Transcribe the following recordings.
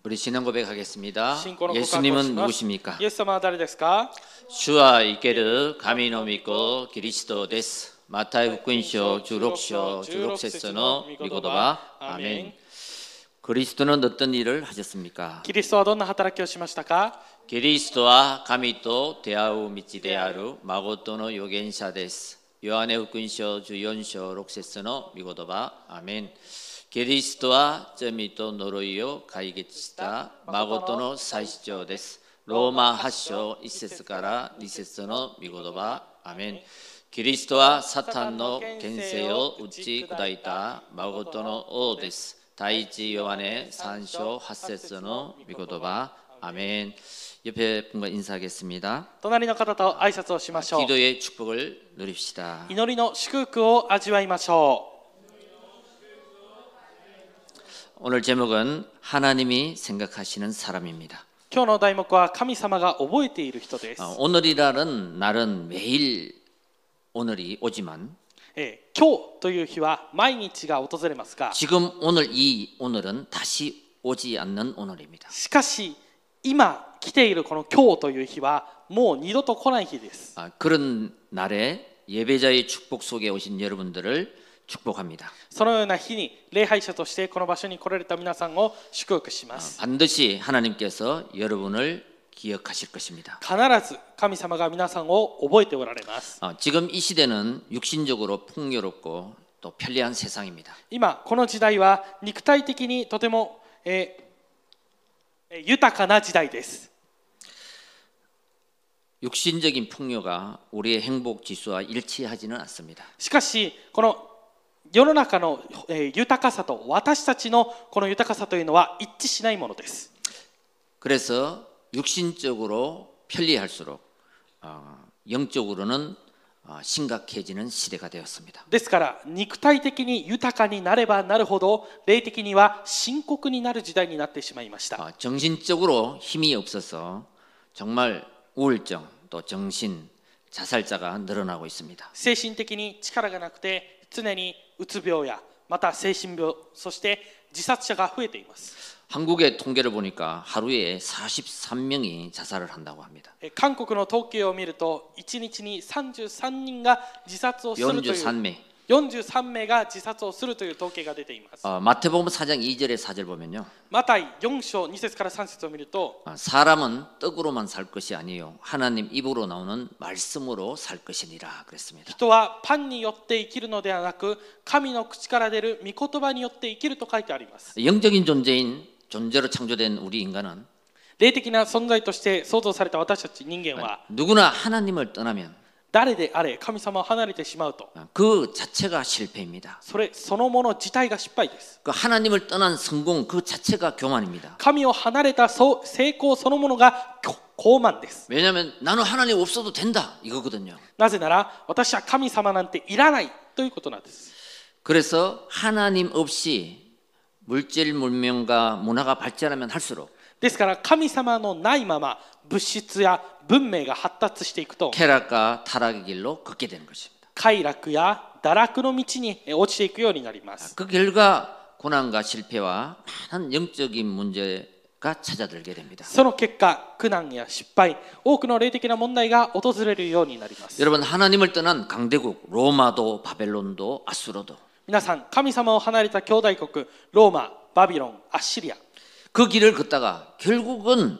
우리 신앙 고백하겠습니다. 信仰の告白をします。 예수님은 누구십니까? イエス様は誰ですか？ 주와 이케르 가미노 믿고 그리스도 데스. 마타이福音書 16章 16節の御言葉。アメン。 그리스도는 어떤 일을 하셨습니까? キリストはどんな働きをしましたか？ 그리스도와神と出会う道である誠の預言者です。ヨハネ福音書14章6節の御言葉。アメン。 그리스도와罪と呪いを解決した誠の祭司長です。ローマ8章1節から2節の御言葉。アメン。キリストはサタンの権勢を打ち砕いた誠の王です。第一ヨハネ3章8節の御言葉。アメン。 옆에 분과 인사하겠습니다. 隣の方と挨拶をしましょう。 기도의 축복을 누립시다. 祈りの祝福を味わいましょう。 오늘 제목은 하나님이 생각하시는 사람입니다. 今日の題目は神様が覚えている人です。 오늘이라는 날은 매일 오늘이 오지만 今日という日は毎日が訪れますが、 지금 오늘 이 오늘은 다시 오지 않는 오늘입니다. しかし今来ているこの今日という日はもう二度と来ない日です。 그런 날에 예배자의 축복 속에 오신 여러분들을 축복합니다. そのような日に礼拝者としてこの場所に来られた皆さんを祝福します。 반드시 하나님께서 여러분을 기억하실 것입니다. 必ず神様が皆さんを覚えておられます。 지금 이 시대는 육신적으로 풍요롭고 또 편리한 세상입니다. 今この時代は肉体的にとても、豊かな時代です。 육신적인 풍요가 우리의 행복 지수와 일치하지는 않습니다. しかしこの世の中の豊かさと私たちのこの豊かさというのは一致しないものです。 그래서 육신적으로 편리할수록 영적으로는 심각해지는 시대가 되었습니다. ですから肉体的に豊かになればなるほど霊的には深刻になる時代になってしまいました。 정신적으로 힘이 없어서 정말 우울증 또 정신 자살자가 늘어나고 있습니다. 精神的に力がなくて常にうつ病やまた精神病そして自殺者が増えています。 한국의 통계를 보니까 하루에 43명이 자살을 한다고 합니다. 韓国の統計を見ると1日に33人が自殺をするという 43명. 43名が自殺をするという統計が出ています。 마태복음 4장 2절의 4절 보면요. マタイ4章2節から3節を見ると 사람은 떡으로만 살 것이 아니요 하나님 입으로 나오는 말씀으로 살 것이니라 그랬습니다. 人はパンによって生きるのではなく神の口から出る御言葉によって生きると書いてあります。 영적인 존재로 창조된 우리 인간은 霊的な存在として創造された私たち人間は 누구나 하나님을 떠나면 誰であれ神様を離れてしまうと 그 자체가 실패입니다. そのもの自体が失敗です。 그 하나님을 떠난 성공 그 자체가 교만입니다. 神を離れた成功そのものが傲慢です。 왜냐하면 나는 하나님 없어도 된다 이거거든요. なぜなら私は神様なんていらないということなんです。 그래서 하나님 없이 물질 문명과 문화가 발전하면 할수록 ですから神様のないまま物質や文明が発達していくと 쾌락과 타락의 길로 걷게 되는 것입니다. 快楽や堕落の道に落ちていくようになります。 그 결과 고난과 실패와 많은 영적인 문제가 찾아들게 됩니다. その結果苦難や失敗多くの霊的な問題が訪れるようになります。 여러분 하나님을 떠난 강대국 로마도 바벨론도 아수르도 皆さん神様を離れた兄弟国ローマ、バビロン、アッシリア 그 길을 걷다가 결국은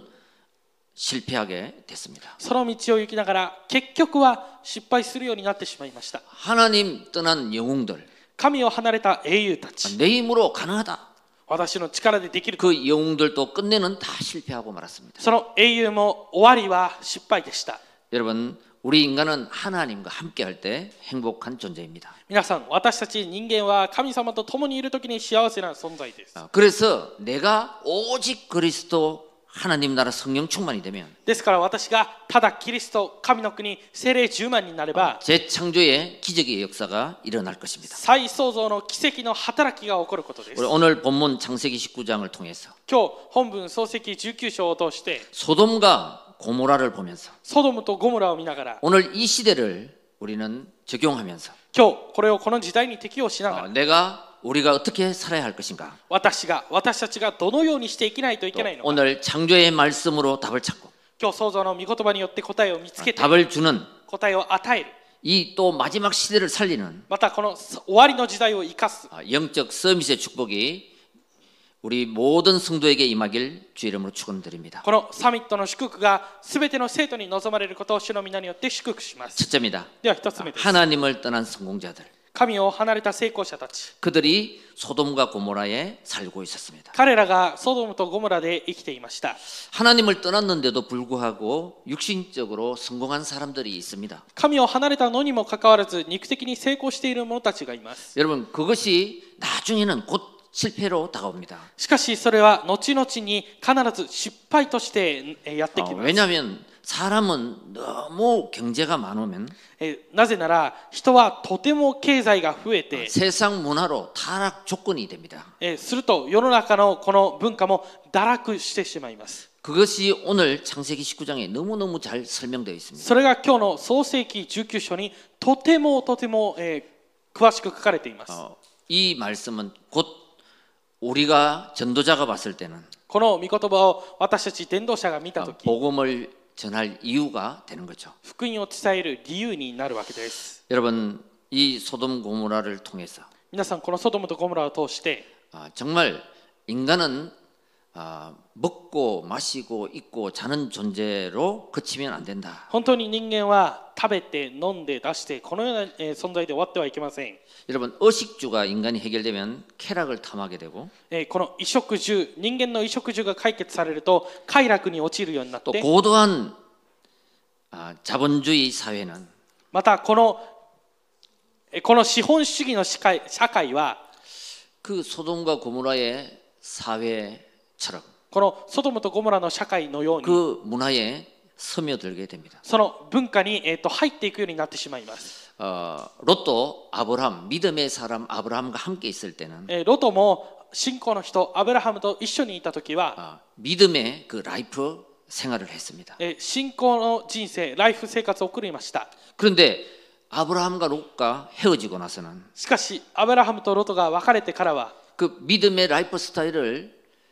실패하게 됐습니다. その道を行きながら結局は失敗するようになってしまいました。 하나님 떠난 영웅들 神を離れた英雄たち 내 힘으로 가능하다. 私の力でできる 그 영웅들도 끝내는 다 실패하고 말았습니다. その英雄も終わりは失敗でした。 여러분 우리 인간은 하나님과 함께 할 때 행복한 존재입니다. 皆さん私たち人間は神様と共にいるときに幸せな存在です。 그래서 내가 오직 그리스도 하나님 나라 성령 충만이 되면 ですから私がただキリスト神の国聖霊10万になれば 재창조의 기적의 역사가 일어날 것입니다. 再創造の奇跡の働きが起こることです。 우리 오늘 본문 창세기 19장을 통해서 今日本文創世記19章を通して 소돔과 고모라를 보면서 ソドムとゴモラを見ながら 오늘 이 시대를 우리는 적용하면서 今日これをこの時代に適用しながら 내가 우리가 어떻게 살아야 할 것인가? 私たちがどのようにして生きないといけないのか。 오늘 창조의 말씀으로 답을 찾고 今日創造の御言葉によって答えを見つけて 답을 주는 答えを与える。 이 또 마지막 시대를 살리는 またこの終わりの時代を生かす 영적 서밋의 축복이 우리 모든 성도에게 임하길 주 이름으로 축원드립니다. このサミットの祝福がすべての生徒に望まれることを主の皆によって祝福します。 첫째입니다. では一つ目です。 하나님을 떠난 성공자들. 神を離れた成功者たち。 그들이 소돔과 고모라에 살고 있었습니다. 彼らがソドムとゴモラで生きていました。 하나님을 떠났는데도 불구하고 육신적으로 성공한 사람들이 있습니다. 神を離れたのにもかかわらず肉的に成功している者たちがいます。 여러분 그것이 나중에는 곧 실패로 다가옵니다. しかしそれは後々に必ず失敗としてやってきます。 왜냐하면 사람은 너무 경제가 많으면 なぜなら人はとても経済が増えて 세상 문화로 타락 조건이 됩니다. すると世の中のこの文化も堕落してしまいます。 그것이 오늘 창세기 19장에 너무너무 잘 설명되어 있습니다. それが今日の創世記19章にとても詳しく書かれています。 이 말씀은 곧 우리가 전도자가 봤을 때는 この御言葉を私たち伝道者が見たとき 복음을 전할 이유가 되는 거죠. 福音を伝える理由になるわけです。 여러분 이 소돔 고모라를 통해서 皆さんこのソドムとゴモラを通して 정말 인간은 먹고 마시고 입고 자는 존재로 그치면 안 된다. 本当に人間は食べて飲んで出してこのような存在で終わってはいけません。 여러분 의식주가 인간이 해결되면 쾌락을 탐하게 되고 この衣食住、人間の衣食住が解決されると快楽に陥るようになっ 또 て 고도한 자본주의 사회는 またこの資本主義の社会は 그 소돔과 고모라의 사회처럼 このソドムとゴモラの社会のように 그 문화에 스며들게 됩니다. その文化に入っていくようになってしまいます。 롯도 아브라함 믿음의 사람 아브라함과 함께 있을 때는 ロトも信仰の人アブラハムと一緒にいた時は 믿음의 그 라이프 생활을 했습니다. 信仰の人生ライフ生活を送りました。 그런데 아브라함과 롯과 헤어지고 나서는 しかしアブラハムとロトが別れてからは 그 믿음의 라이프 스타일을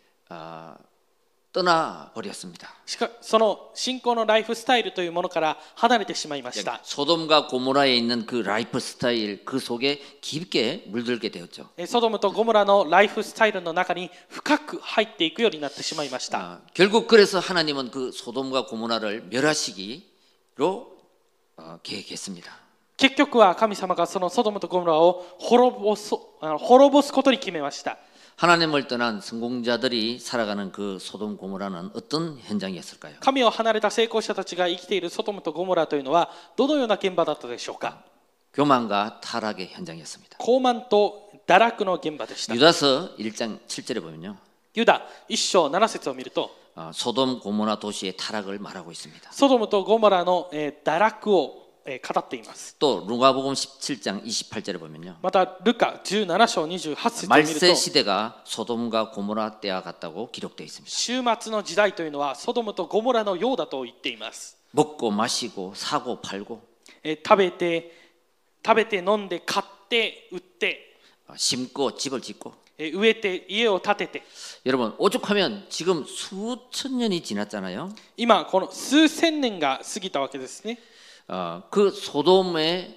떠나버렸습니다. その信仰のライフスタイルというものから離れてしまいました。 소돔과 고모라에 있는 그 라이프 스타일 그 속에 깊게 물들게 되었죠. ソドムとゴモラのライフスタイルの中に深く入っていくようになってしまいました。 결국 그래서 하나님은 그 소돔과 고모라를 멸하시기로 계획했습니다. 結局は神様がそのソドムとゴモラを滅ぼすことに決めました。 하나님을 떠난 성공자들이 살아가는 그 소돔 고모라는 어떤 현장이었을까요? 神を離れた成功者たちが生きているソドムとゴモラというのはどのような現場だったでしょうか。 교만과 타락의 현장이었습니다. 傲慢と堕落の現場でした。 유다서 1장 7절에 보면요. ユダ1章7節を見ると 소돔 고모라 도시의 타락을 말하고 있습니다. ソドムとゴモラの堕落を語っています。 또 누가복음 17장 28절에 보면요. またルカ17章28節を見る 말세 と 시대가 소돔과 고모라 때와 같다고 기록되어 있습니다. 終末の時代というのはソドムとゴモラのようだと言っています。 먹고 마시고 사고 팔고 食べて飲んで買って売って 심고 집을 짓고 植えて家を建てて 여러분 오죽하면 지금 수천 년이 지났잖아요. 今この数千年が過ぎたわけですね。 그 소돔의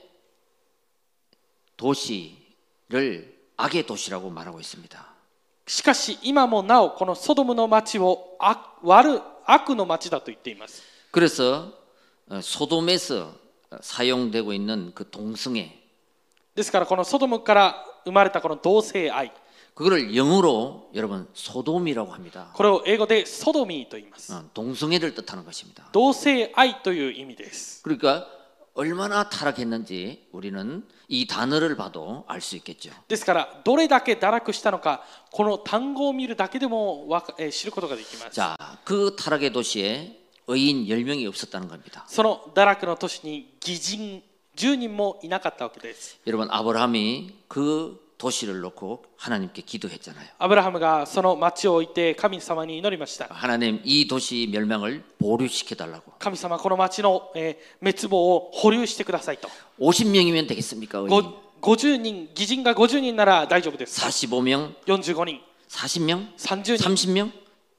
도시를 악의 도시라고 말하고 있습니다. しかし今もなおこのソドムの町を悪の町だと言っています。 그래서 소돔에서 사용되고 있는 그 동성애 ですからこのソドムから生まれたこの同性愛 그거를 영어로 여러분 소돔이라고 합니다. これを英語でソドミーと言います。 동성애를 뜻하는 것입니다. 同性愛という意味です。 그러니까 얼마나 타락했는지 우리는 이 단어를 봐도 알 수 있겠죠. ですからどれだけ堕落したのかこの単語を見るだけでも知ることができます。 자, 그 타락의 도시에 의인 10명이 없었다는 겁니다. その堕落の都市に義人10人もいなかったわけです。 여러분 아브라함이 그 도시를 놓고 하나님께 기도했잖아요. アブラハムがその町を置いて神様に祈りました。 하나님 이 도시 멸망을 보류시켜 달라고. 神様この町の滅亡を保留してくださいと。 50명이면 되겠습니까? 의인? 50人、義人が50人なら大丈夫ですか。 45명, 45人、 40명, 30人、 30명,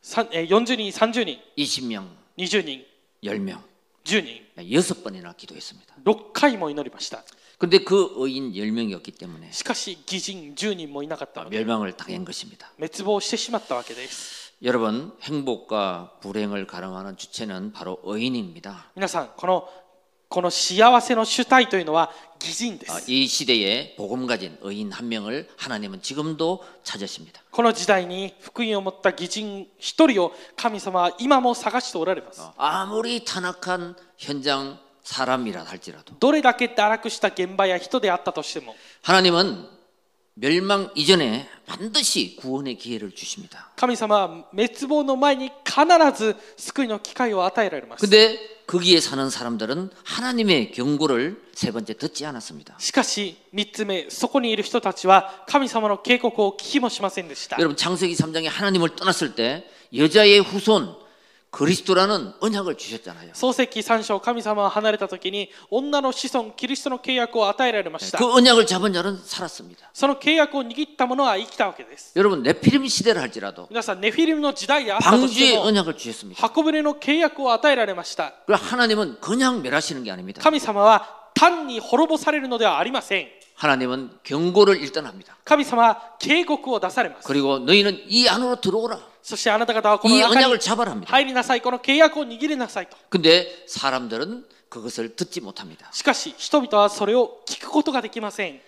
40人、30人、 20명, 20人、 10명. 10人、 6번이나 기도했습니다. 6回も祈りました。 근데 그 의인 10명이었기 때문에 しかし義人10人もいなかったので 멸망을 당한 것입니다. 滅亡してしまったわけです。 여러분, 행복과 불행을 가름하는 주체는 바로 의인입니다. 皆さん、この幸せの主体というのは義人です。 이 시대에 복음 가진 의인 한 명을 하나님은 지금도 찾으십니다. この時代に福音を持った義人一人を神様は今も探しておられます。 아무리 타락한 현장 사람이라 할지라도 どれだけ堕落した現場や人であったとしても 하나님은 멸망 이전에 반드시 구원의 기회를 주십니다. 神様は滅亡の前に必ず救いの機会を与えられます。 근데 거기에 사는 사람들은 하나님의 경고를 세 번째 듣지 않았습니다. しかし3つ目、そこにいる人たちは神様の警告を聞きもしませんでした。 여러분 창세기 3장에 하나님을 떠났을 때 여자의 후손 그리스도라는 언약을 주셨잖아요. 創世記3章、神様を離れた時に女の子孫キリストの契約を与えられました。 그 언약을 잡은 자는 살았습니다. その契約を握った者は生きたわけです。 여러분 네피림 시대를 할지라도 皆さん、ネフィリムの時代であったとして 방주의 も 언약을 주셨습니다. 箱舟の契約を与えられました。 그럼 하나님은 그냥 멸하시는 게 아닙니다. 神様は単に滅ぼされるのではありません。 하나님은 경고를 일단 합니다. 神様は警告を出されます。 그리고 너희는 이 안으로 들어오라. そしてあなた方はこの 이 中 언약을 に 잡아라 합니다. 入りなさい。この契約を握りなさいと。 근데 사람들은 그것을 듣지 못합니다. しかし人々はそれを聞くことができません。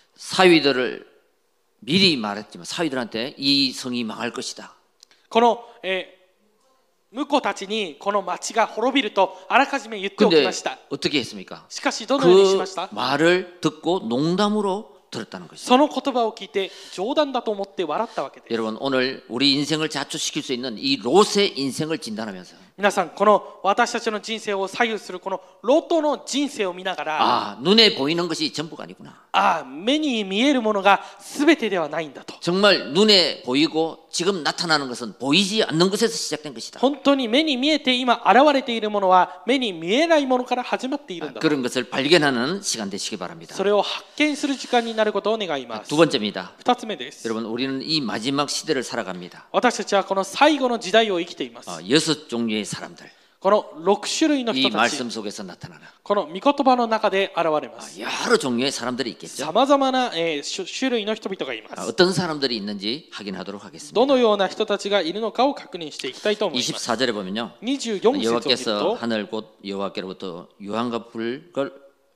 사위들을 미리 말했지만 사위들한테 이 성이 망할 것이다. この、婿たちにこの町が滅びるとあらかじめ言っておき 근데 ました。 어떻게 했습니까? しかしどのようにしまし 그 た？ 말을 듣고 농담으로 들었다는 것이죠. その言葉を聞いて冗談だと思って笑ったわけです。 여러분 오늘 우리 인생을 자초시킬 수 있는 이 롯의 인생을 진단하면서 皆さん、この私たちの人生を左右するこのロトの人生を見ながら、 아 눈에 보이는 것이 전부가 아니구나. 目に見えるものが全てではないんだと。 정말 눈에 보이고 지금 나타나는 것은 보이지 않는 것에서 시작된 것이다. 本当に目に見えて今現れているものは目に見えないものから始まっているんだと。 그런 것을 발견하는 시간 되시기 바랍니다. それを発見する時間になることを願います。 두 번째입니다. 2つ目です。 여러분 우리는 이 마지막 시대를 살아갑니다. 私たちはこの最後の時代を生きています。 6 종류의 사람들 この6種類の 이 人たち、 말씀 속에서 나타나는 この御言葉の中で現れます。 여러 종류의 사람들이 있겠죠. さまざまな、種類の人々がいます。 어떤 사람들이 있는지 확인하도록 하겠습니다. どのような人たちがいるのかを確認していきたいと思います。 24절에 보면요. 24節を見る 여호와께서 と、 하늘 곧 여호와께로부터 유황과 불걸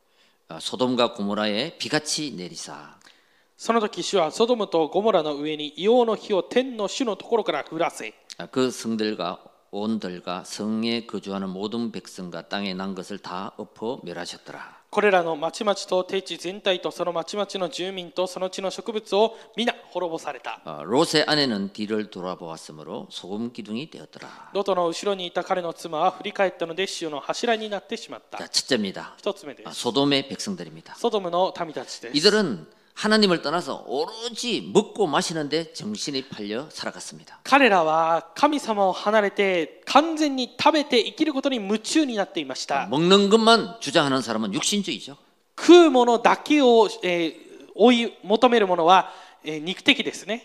소돔과 고모라에 비같이 내리사 その時主はソドムとゴモラの上に硫黄の火を天の主のところから降らせ、 그 성들과 온들과 성에 거주하는 모든 백성과 땅에 난 것을 다 엎어 멸하셨더라. これらの町々と低地全体とその町々の住民とその地の植物を皆滅ぼされた。 롯의 아내는 뒤를 돌아보았으므로 소금 기둥이 되었더라. ロトの後ろにいた彼の妻は振り返ったので塩の柱になってしまった。 자, 첫째입니다. 一つ目です。 소돔의 백성들입니다. ソドムの民たちです。 이들은 하나님을 떠나서 오로지 먹고 마시는데 정신이 팔려 살아갔습니다. 彼らは神様を離れて完全に食べて生きることに夢中になっていました。 먹는 것만 주장하는 사람은 육신주의죠. 食うものだけを、追い求めるものは、肉的ですね。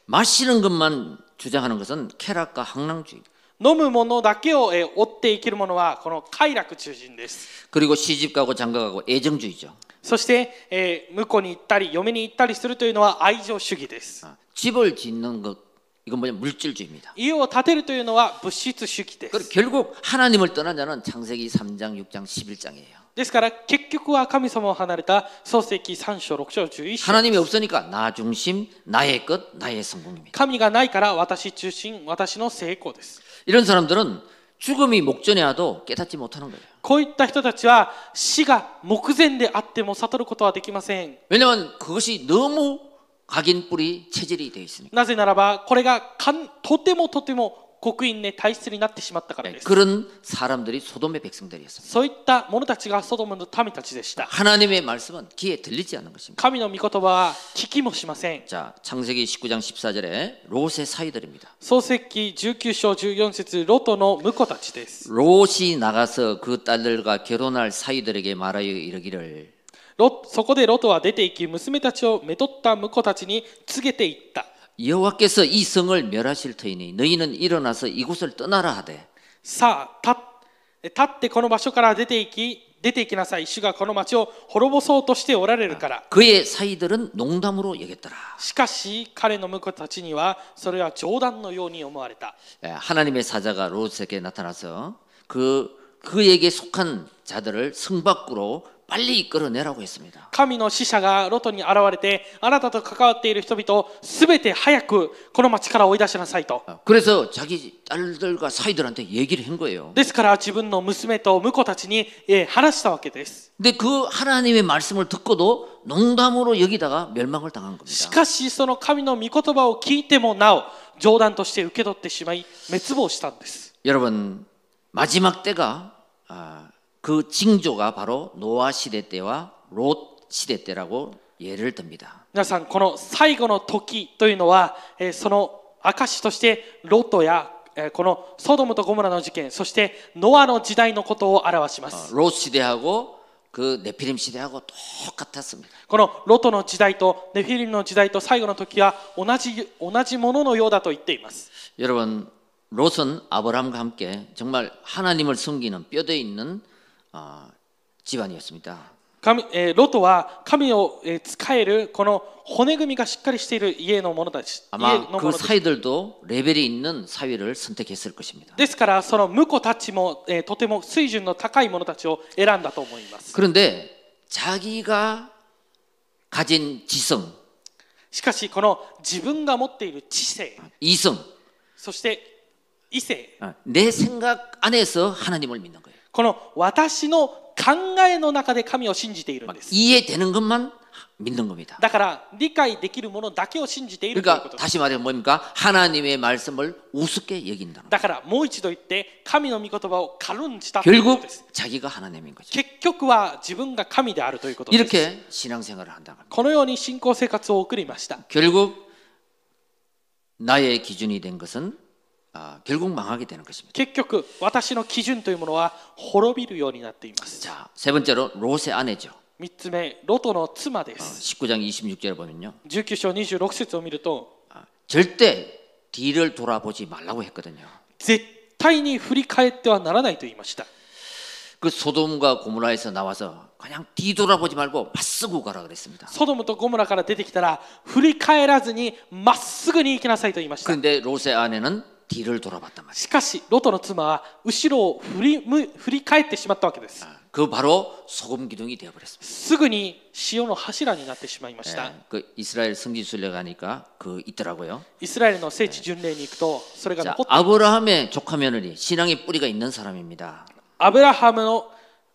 마시는 것만 주장하는 것은 쾌락과 항랑주의. 飲むものだけを、追って生きるものはこの快楽中心です。 그리고 시집가고 장가가고 애정주의죠. そして、婿に行ったり嫁に行ったりするというのは愛情主義です。 집을 짓는 것 이건 뭐냐 물질주의입니다. 家を建てるというのは物質主義で 그리고 す。 결국 하나님을 떠난 자는 창세기 3장, 6장, 11장이에요. ですから結局は神様を離れた創世記3章6章11章。 하나님이 없으니까 나 중심, 나의 것, 나의 성공입니다. 神がないから私中心、私の成功です。 이런 사람들은 죽음이 목전에 와도 깨닫지 못하는 거예요. こういった人たちは死が目前であっても悟ることはできません。 왜냐하면 그것이 너무 각인 뿌리 체질이 되어 있으니까. なぜならばこれがとても刻印で体質になってしまったからです。 그런 사람들이 소돔의 백성들이었습니다. そういった者たちがソドムの民たちでした。 하나님의 말씀은 귀에 들리지 않는 것입니다. 神の御言葉は聞きもしません。 자, 창세기 19장 14절에 롯의 사위들입니다. 創世記19章14節ロトの婿たちです。 롯이 나가서 그 딸들과 결혼할 사위들에게 말하여 이르기를 そこでロトは出て行き、娘たちをめとった婿たちに告げていった。 여호와께서 이 성을 멸하실 터이니 너희는 일어나서 이곳을 떠나라 하되 さあ立ってこの場所から出て行きなさい。主がこの町を滅ぼそうとしておられるから。 그의 사이들은 농담으로 여겼더라. しかし彼の婿たちにはそれは冗談のように思われた。 하나님의 사자가 롯에게 나타나서 그에게 속한 자들을 성 밖으로 빨리 이끌어내라고 했습니다. 神の使者がロトに現れて、あなたと関わっている人々をすべて早くこの町から追い出しなさいと。 그래서 자기 딸들과 사이들한테 얘기를 한 거예요. ですから自分の娘と婿たちに話したわけです。 근데 그 하나님의 말씀을 듣고도 농담으로 여기다가 멸망을 당한 し 겁니다. かしその神の御言葉を聞いてもなお冗談として受け取ってしまい滅亡したんです。 여러분 마지막 때가 그 징조가 바로 노아 시대 때와 롯 시대 때라고 예를 듭니다. 皆さんこの最後の時というのは、その証としてロトやこのソドムとゴモラの事件、そしてノアの時代のことを表します。 롯 시대하고 그 네피림 시대하고 똑같았습니다. このロトの時代とネフィリムの時代と最後の時は同じもののようだと言っています。 여러분 롯은 아브라함과 함께 정말 하나님을 섬기는 뼈대 있는 집안이었습니다. ロトは神を仕えるこの骨組みがしっかりしている家の者たち。 아마 그 사이들도 레벨이 있는 사위를 선택했을 것입니다. ですからその婿たちもとても水準の高い者たちを選んだと思います。 그런데 자기가 가진 지성, しかしこの自分が持っている知性、 이성, そして異性、 내 생각 안에서 하나님을 믿는 거예요. この私の考えの中で神を信じているんです。 이해되는 것만 믿는 겁니다. だから理解できるものだけを信じているというこ 그러니까 とです。 다시 말해 뭡니까? 하나님의 말씀을 우습게 여긴다는 거예요. だからもう一度言って神の御言葉を軽んじたということ 결국 です。 자기가 하나님인 거죠. 結局は自分が神であるということです。 이렇게 신앙생활을 한다는 겁니다. このように信仰生活を送りました。 결국 나의 기준이 된 것은 결국 망하게 되는 것입니다. 結局私の基準というものは滅びるようになっています。 자, 세 번째로 롯의 아내죠. 3つ目、ロトの妻です。 19장 26절에 보면요. 19章26節を見ると、 절대 뒤를 돌아보지 말라고 했거든요. 絶対に振り返ってはならないと言いました。 그 소돔과 고모라에서 나와서 그냥 뒤돌아보지 말고 맞서고 가라 그랬습니다. ソドムとゴモラから出てきたら振り返らずにまっすぐに行きなさいと言いました。 그런데 롯의 아내는 뒤를 돌아봤단 말이에요. しかしロトの妻は後ろを振り返ってしまったわけです。 그 바로 소금 기둥이 되어버렸습니다. すぐに塩の柱になってしまいました。 그 이스라엘 성지순례 가니까 그 있더라고요. イスラエルの聖地巡礼に行くとそれが 자, 残って、 아브라함의 조카 며느리 신앙의 뿌리가 있는 사람입니다. アブラハムの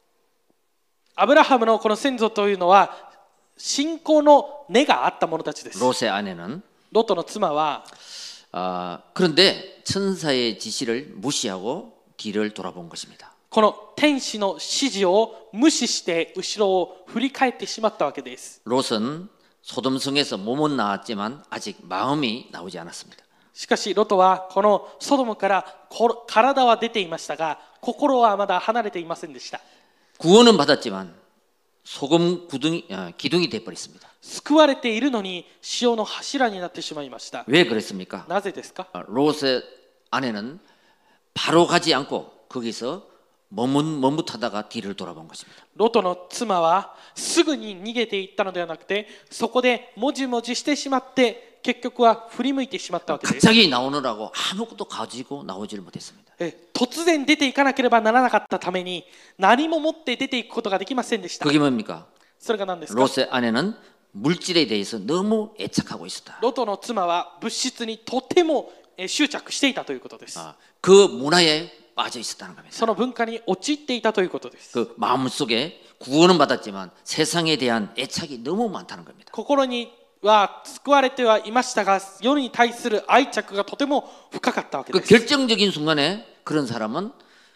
この先祖というのは信仰の根があった者たちです。 롯의 아내는 ロトの妻は 그런데 천사의 지시를 무시하고 뒤를 돌아본 것입니다. この天使の指示を無視して後ろを振り返ってしまったわけです。 롯은 소돔성에서 몸은 나왔지만 아직 마음이 나오지 않았습니다. しかしロトはこのソドムから体は出ていましたが心はまだ離れていませんでした。 구원은 받았지만 소금 기둥이 되어버렸습니다. 救われているのに塩の柱になってしまいました。 왜 그랬습니까? なぜですか？ 롯의 아내는 바로 가지 않고 거기서 머뭇하다가 뒤를 돌아본 것입니다. ロトの妻はすぐに逃げていったのではなくてそこでもじもじしてしまって結局は振り向いてしまったわけです。 갑자기 나오느라고 아무것도 가지고 나오지를 못했습니다. 突然出ていかなければならなかったために何も持って出ていくことができませんでした。 그게 뭡니까? それが何ですか？ 롯의 아내는 물질에 대해서 너무 애착하고 있었다. ロトの妻は物質にとても執着していたということです。 그 문화에 빠져 있었다는 겁니다. その文化に陥っていたということです。 그 마음속에 구원은 받았지만 세상에 대한 애착이 너무 많다는 겁니다. 心には救われてはいましたが世に対する愛着がとても深かったわけで 그 す。 결정적인 순간에 그런 사람은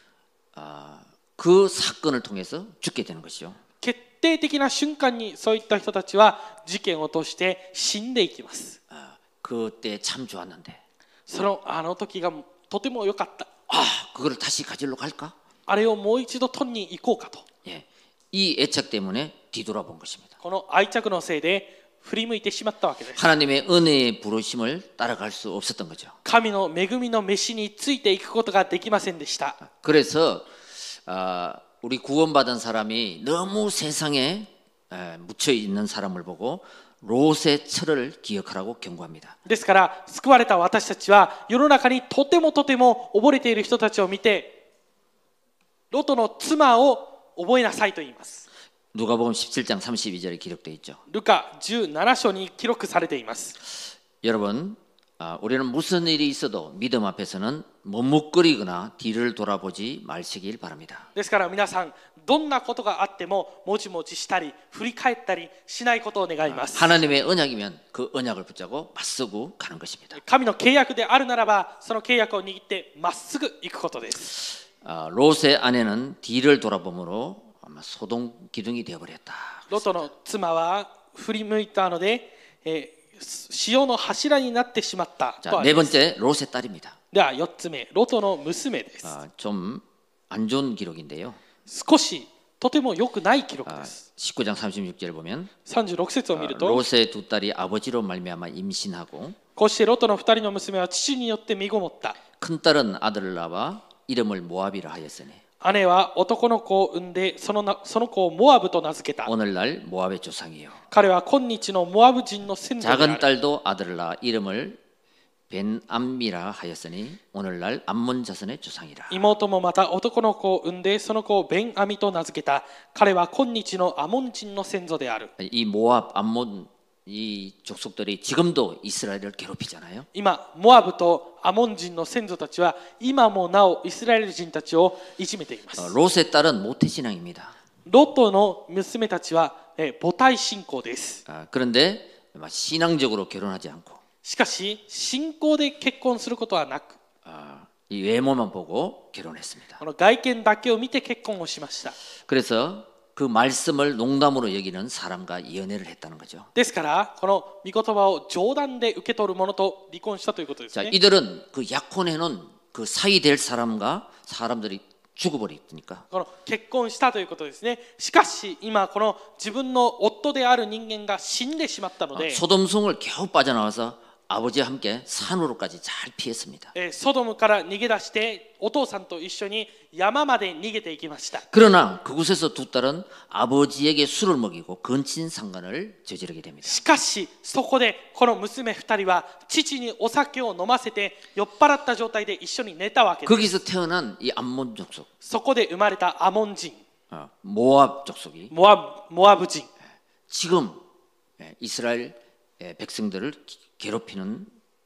그 사건을 통해서 죽게 되는 것이죠. 決定的な瞬間にそういった人たちは事件を通して死んでいきます。 그때 참 좋았는데 あの時がとても良かった。 그걸 다시 가지러 갈까? あれをもう一度取りに行こうかと。 이 애착 때문에 뒤돌아본 것입니다. この愛着のせいで振り向いてしまったわけです。 하나님의 은혜의 부르심을 따라갈 수 없었던 거죠. 神の恵みの飯についていくことができませんでした。 그래서 우리 구원받은 사람이 너무 세상에 묻혀 있는 사람을 보고 롯의 철을 기억하라고 경고합니다. ですから救われた私たちは世の中にとても溺れている人たちを見てロトの妻を覚えなさいと言います。 누가복음 17장 32절에 기록되어 있죠. ルカ17章に記録されています。 여러분, 우리는 무슨 일이 있어도 믿음 앞에서는 머뭇거리거나 뒤를 돌아보지 마시길 바랍니다. ですから皆さんどんなことがあってももちもちしたり振り返ったりしないことを願います。 하나님의 언약이면 그 언약을 붙잡고 맞서고 가는 것입니다. 神の契約であるならばその契約を握ってまっすぐ行くことです。 롯의 아내는 뒤를 돌아보므로 아마 소동 기둥이 되어버렸다. ロトの妻は振り向いたので、潮の柱になってしまった。 자, 네 번째 롯의 딸입니다. では4つ目、ロトの娘です。 좀 안 좋은 기록인데요. 少しとても良くない記録です。 19장 36절 보면 36節を見ると 롯의 두 딸이 아버지로 말미암아 임신하고 こうしてロトの2人の娘は父によって身ごもった。 큰 딸은 아들을 낳아 이름을 모압이라 하였으니 姉は男の子を産んでその子をモアブと名付けた。 오늘날 모압의 조상이요. 彼は今日のモアブ人の先祖であ 작은 る。 딸도 아들을 낳아 이름을 벤암미라 하였으니 오늘날 암몬 자손의 조상이라. 妹もまた男の子を産んでその子をベンアミと名付けた。彼は今日のアモン人の先祖である。 이 모압, 암몬 이 족속들이 지금도 이스라엘을 괴롭히잖아요. 今モアブとアモン人の先祖たちは今もなおイスラエル人たちをいじめています。 롯의 딸은 모태신앙입니다. ロトの娘たちは母体信仰です。 그런데 신앙적으로 결혼하지 않고 しかし信仰で結婚することはなく 이 외모만 보고 결혼했습니다. この外見だけを見て結婚をしました。 그래서 그 말씀을 농담으로 여기는 사람과 연애를 했다는 거죠. ですからこの御言葉を冗談で受け取る者と離婚したということです 자, ね。 이들은 그 약혼해놓은 그 사이 될 사람과 사람들이 죽어버리니까 この結婚したということですね。しかし今この自分の夫である人間が死んでしまったので、 소돔성을 겨우 빠져나와서 아버지와 함께 산으로까지 잘 피했습니다. ソドムから逃げ出してお父さんと一緒に山まで逃げていきました。 그러나 그곳에서 두 딸은 아버지에게 술을 먹이고 근친상간을 저지르게 됩니다. しかしそこでこの娘2人は父にお酒を飲ませて酔っ払った状態で一緒に寝たわけです。 거기서 태어난 이 암몬 족속, そこで生まれたアモン人、 모압 족속이 モアブ人、 지금 이스라엘 백성들을 괴롭히는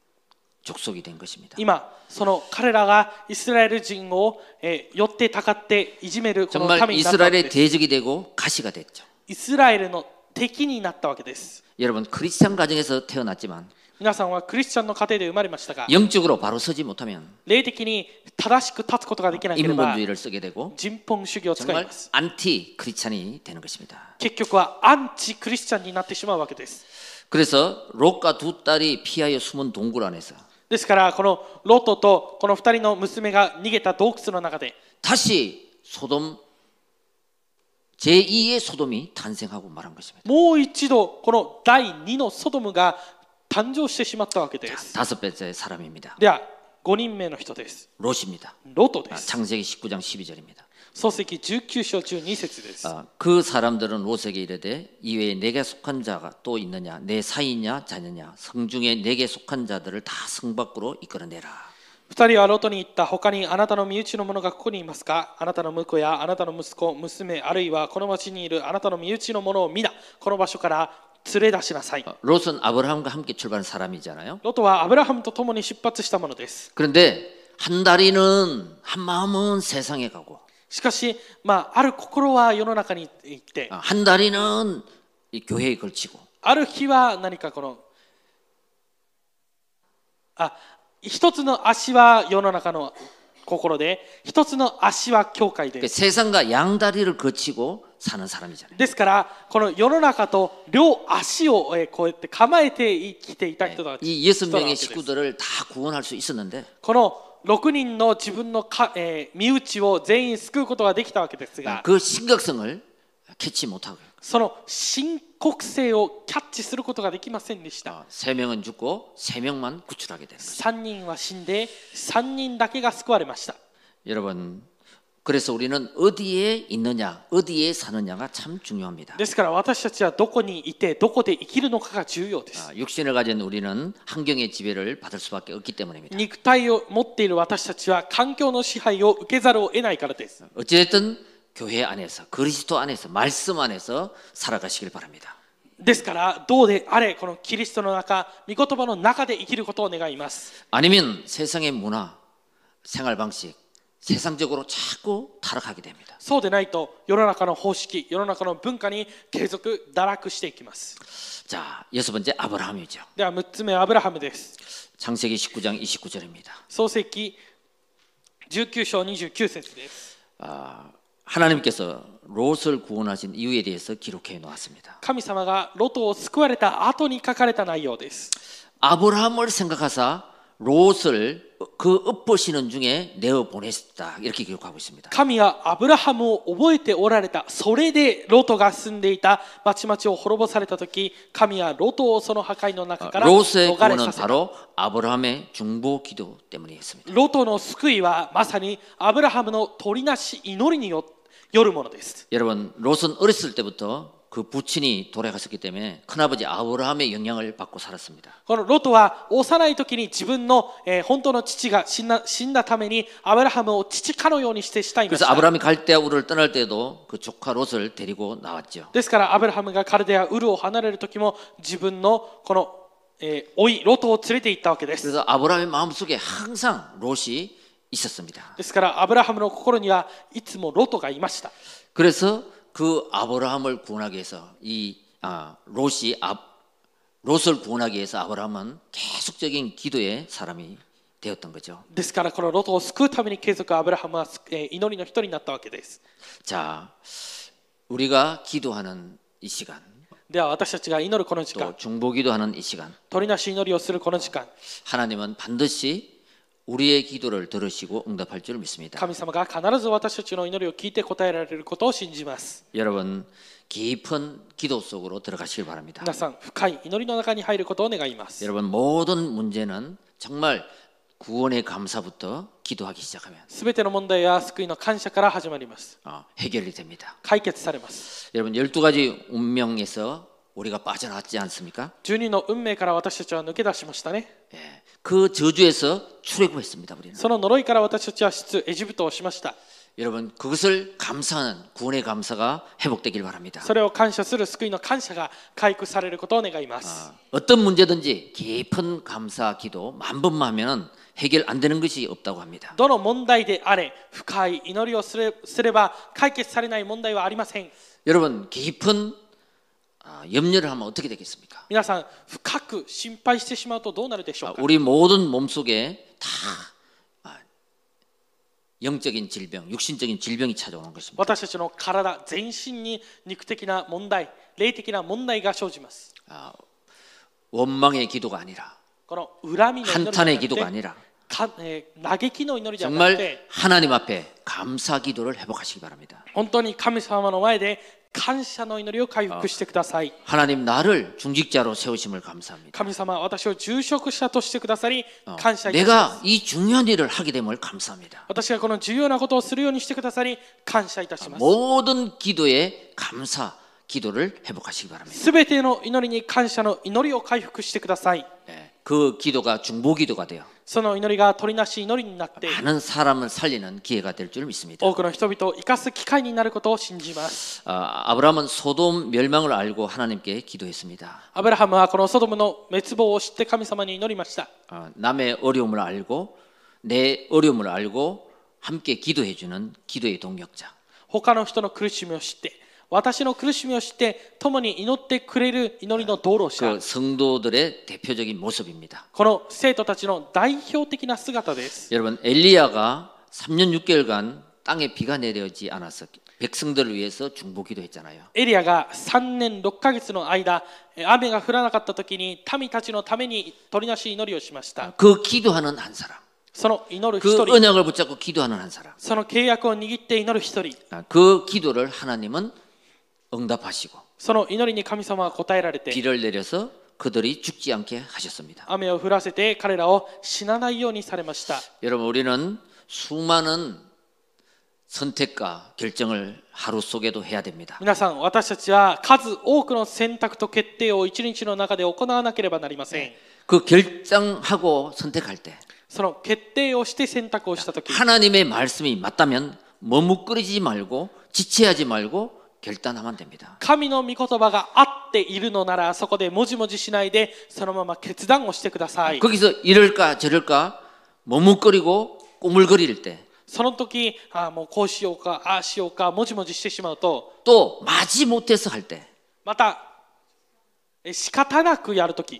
족속이 된 것입니다. 今その彼らがイスラエル人を寄ってたかっていじめるこの 정말 民になったわけ 이스라엘의 です。 대적이 되고 가시가 됐죠. イスラエルの敵になったわけです。 여러분 크리스찬 가정에서 태어났지만 皆さんはクリスチャンの家庭で生まれましたが、 영적으로 바로 서지 못하면 霊的に正しく立つことができなければ 인본주의를 쓰게 되고 人本主義を使い 정말 ます。 안티 크리스찬이 되는 것입니다. 結局はアンチクリスチャンになってしまうわけです。 그래서 롯과 두 딸이 피하여 숨은 동굴 안에서 ですからこのロトとこの2人の娘が逃げた洞窟の中で 다시 소돔 제2의 소돔이 탄생하고 말한 것입니다. もう一度この第2のソドムが誕生してしまったわけで 자, す。 다섯 번째 사람입니다. では5人目の人です。 롯입니다. ロトです。 창세기 19장 12절입니다. 創世記19章12節です。 그 사람들은 롯에게 이르되 이외에 내게 속한 자가 또 있느냐 내 사이냐 자녀냐 성중에 내게 속한 자들을 다 성 밖으로 이끌어내라. 2人はロトに言った。他にあなたの身内の者がここにいますか。あなたの婿やあなたの息子娘あるいはこの町にいるあなたの身内の者を皆この場所から連れ出しなさい。 롯은 아브라함과 함께 출발한 사람이잖아요. ロトはアブラハムと共に出発したものです。 그런데 한 다리는 한 마음은 세상에 가고 しかし、ある心は世の中に行って、 한 다리는 이 교회에 걸치고 ある日は何かこの一つの足は世の中の心で、一つの足は教会で。 세상과 양다리를 거치고 사는 사람이잖아요. ですからこの世の中と両足をこうやって構えて生きていた人たち。 이 6명의 식구들을 다 구원할 수 있었는데 この6人の自分の身内を全員救うことができたわけですが、 그 심각성을 캐치 못하고 その深刻性をキャッチすることができませんでした。 세 명은 죽고 세 명만 구출하게 되는 거죠. 3人は死んで3人だけが救われました。 여러분, 그래서 우리는 어디에 있느냐, 어디에 사느냐가 참 중요합니다. ですから私たちはどこにいてどこで生きるのかが重要です。 육신을 가진 우리는 환경의 지배를 받을 수밖에 없기 때문입니다. 肉体を持っている私たちは環境の支配を受けざるを得ないからです。 어찌됐든 교회 안에서, 그리스도 안에서, 말씀 안에서 살아가시길 바랍니다. ですからどうであれこのキリストの中、御言葉の中で生きることを願います。 아니면 세상의 문화, 생활 방식, 세상적으로 자꾸 타락하게 됩니다. そうでないと世の中の方式、世の中の文化に継続堕落していきます。 자, 여섯 번째 아브라함이죠. では6つ目アブラハムです。 창세기 19장 29절입니다. 創世記19章29節です。 하나님께서 롯을 구원하신 이유에 대해서 기록해 놓았습니다. 神様がロトを救われた後に書かれた内容です。 아브라함을 생각하사 롯을 그 엎으시는 중에 내어 보냈다 이렇게 기록하고 있습니다. 神はアブラハムを覚えておられた。それでロトが住んでいた町々を滅ぼされた時、神はロトをその破壊の中から 롯의 逃れ 구원은 させた。 바로 아브라함의 중보 기도 때문이었습니다. ロトの救いはまさにアブラハムの取りなし祈りによるものです。 여러분, 롯은 어렸을 때부터 그 부친이 돌아갔었기 때문에 큰아버지 아브라함의 영향을 받고 살았습니다. このロトは幼い時に自分の本当の父が死んだためにアブラハムを父かのようにして慕いまし 그래서 た。 아브라함이 갈대아 우르를 떠날 때도 그 조카 롯을 데리고 나왔죠. ですからアブラハムがカルデアウルを離れる時も自分のこの甥ロトを連れて行ったわけです。 그래서 아브라함의 마음속에 항상 롯이 있었습니다. ですからアブラハムの心にはいつもロトがいました。 그래서 그 아브라함을 구원하기 위해서 롯을 구원하기 위해서 아브라함은 계속적인 기도의 사람이 되었던 거죠. ですからこのロトを救うために継続アブラハムは祈りの一人になったわけです。 자, 우리가 기도하는 이 시간, では私たちが祈るこの時間、 또 중보기도하는 이 시간, 取りなし祈りをするこの時間、 하나님은 반드시 우리의 기도를 들으시고 응답할 줄 믿습니다. 神様が必ず私たちの祈りを聞いて答えられることを信じます。 여러분, 깊은 기도 속으로 들어가시길 바랍니다. 皆さん深い祈りの中に入ることを願います。 여러분, 모든 문제는 정말 구원의 감사부터 기도하기 시작하면 すべての問題や救いの感謝から始まります。 해결이 됩니다. 解決されます。 여러분, 12가지 운명에서 우리가 빠져나왔지 않습니까? 12の運命から私たちは抜け出しましたね。 예, 그 저주에서 출애굽했습니다. 우리는. その呪いから私たちは出エジプトをしました。 여러분, 그것을 감사하는 구원의 감사가 회복되길 바랍니다. それを感謝する救いの感謝が回復されることを願います。 어떤 문제든지 깊은 감사 기도 만 번만 하면은 해결 안 되는 것이 없다고 합니다. どの問題であれ、深い祈りをすれば解決されない問題はありません。 여러분, 깊은 염려를 하면 어떻게 되겠습니까? 皆さん深く心配してしまうとどうなるでしょうか。 우리 모든 몸속에 다 영적인 질병, 육신적인 질병이 찾아오는 것입니다. 私たちの体全身に肉的な問題、霊的な問題が生じます。 원망의 기도가 아니라 この恨みの祈り 한탄의 じ 기도가 ゃなく 아니라 て嘆きの祈りじゃなくて 정말 하나님 앞에 감사 기도를 회복하시기 바랍니다. 本当に神様の前で感謝の祈りを回復してください。 하나님 나를 중직자로 세우심을 감사합니다. 神様私を住職者としてくださり感謝いたしま 내가 す。 이 중요한 일을 하게 됨을 감사합니다. 私がこの重要なことをするようにしてくださり感謝いたします。 모든 기도에 감사 기도를 회복하시기 바랍니다. すべての祈りに感謝の祈りを回復してください。 그 기도가 중보 기도가 돼요. その祈りが取りなし祈りになって 많은 사람을 살리는 기회가 될 줄 믿습니다. 多くの人々を生かす機会になることを信じます。 아브라함은 소돔 멸망을 알고 하나님께 기도했습니다. アブラハムはこのソドムの滅亡を知って神様に祈りました。 남의 어려움을 알고 내 어려움을 알고 함께 기도해주는 기도의 동력자. 他の人の苦しみを知って私の苦しみを知って共に祈ってくれる祈りの道路者。 그 성도들의 대표적인 모습입니다. この生徒たちの代表的な姿です。 여러분, 엘리야가 3년 6개월간 땅에 비가 내려지 않아서 백성들을 위해서 중보 기도했잖아요. エリアが3年6ヶ月の間雨が降らなかった時に民たちのために取りなし祈りをしました。 그 기도하는 한 사람, その祈る 그 一人、 언약을 붙잡고 기도하는 한 사람, その契約を握って祈る一人、 그 기도를 하나님은 응답하시고 その祈りに神様は答えられて 비를 내려서 그들이 죽지 않게 하셨습니다. 雨を降らせて彼らを死なないようにされました。 여러분 우리는 수많은 선택과 결정을 하루 속에도 해야 됩니다. 皆さん、私たちは数多くの選択と決定を一日の中で行わなければなりません。 그 결정하고 선택할 때 その決定をして選択をしたとき、 하나님의 말씀이 맞다면 머뭇거리지 말고 지체하지 말고 결단하면 됩니다. 神の御言葉が合っているのなら、そこでもじもじしないでそのまま決断をしてください。 거기서 이럴까 저럴까 머뭇거리고 꾸물거릴 때 その時、もうこうしようか、ああしようか、もじもじしてしまうと、 또 마지 못해서 할 때 また仕方なくやる時、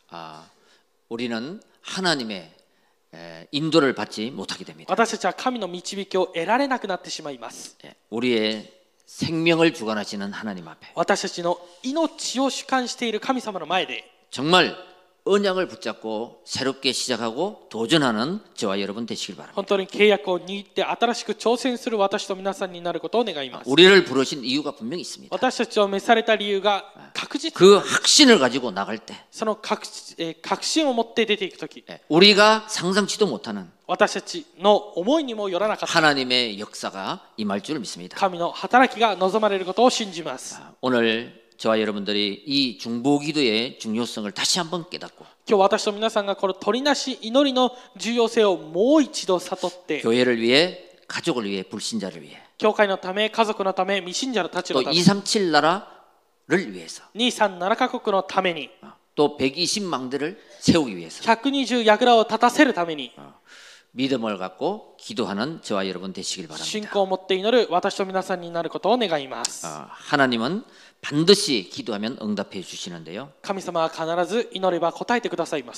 우리는 하나님의 인도를 받지 못하게 됩니다. 私たちは神の導きを得られなくなってしまいます。 우리의 생명을 주관하시는 하나님 앞에 私たちの命を主管している神様の前で 정말 언약을 붙잡고 새롭게 시작하고 도전하는 저와 여러분 되시길 바랍니다. 本当に契約を握って新しく挑戦する私と皆さんになることを願います。 우리를 부르신 이유가 분명히 있습니다. 私たちを召された理由が確実、 그 확신을 가지고 나갈 때 その確信を持って出ていくとき、 우리가 상상치도 못하는 私たちの思いにもよらなかった 하나님의 역사가 임할 줄 믿습니다. 神の働きが望まれることを信じます。 오늘 저와 여러분들이 이 중보기도의 중요성을 다시 한번 깨닫고 今日私と皆さんがこの取りなし祈りの重要性をもう一度悟って 교회를 위해 가족을 위해 불신자를 위해 教会のため、家族のため、未信者たちの 또 ため、 237 나라를 위해서 237カ国のために、 또 120망대를 세우기 위해서 120櫓を立たせるために、 믿음을 갖고 기도하는 저와 여러분 되시길 信 바랍니다. 仰を持って祈る私と皆さんになることを願います。 하나님은 반드시 기도하면 응답해 주시는데요. 神様は必ず祈れば答えてくださいます。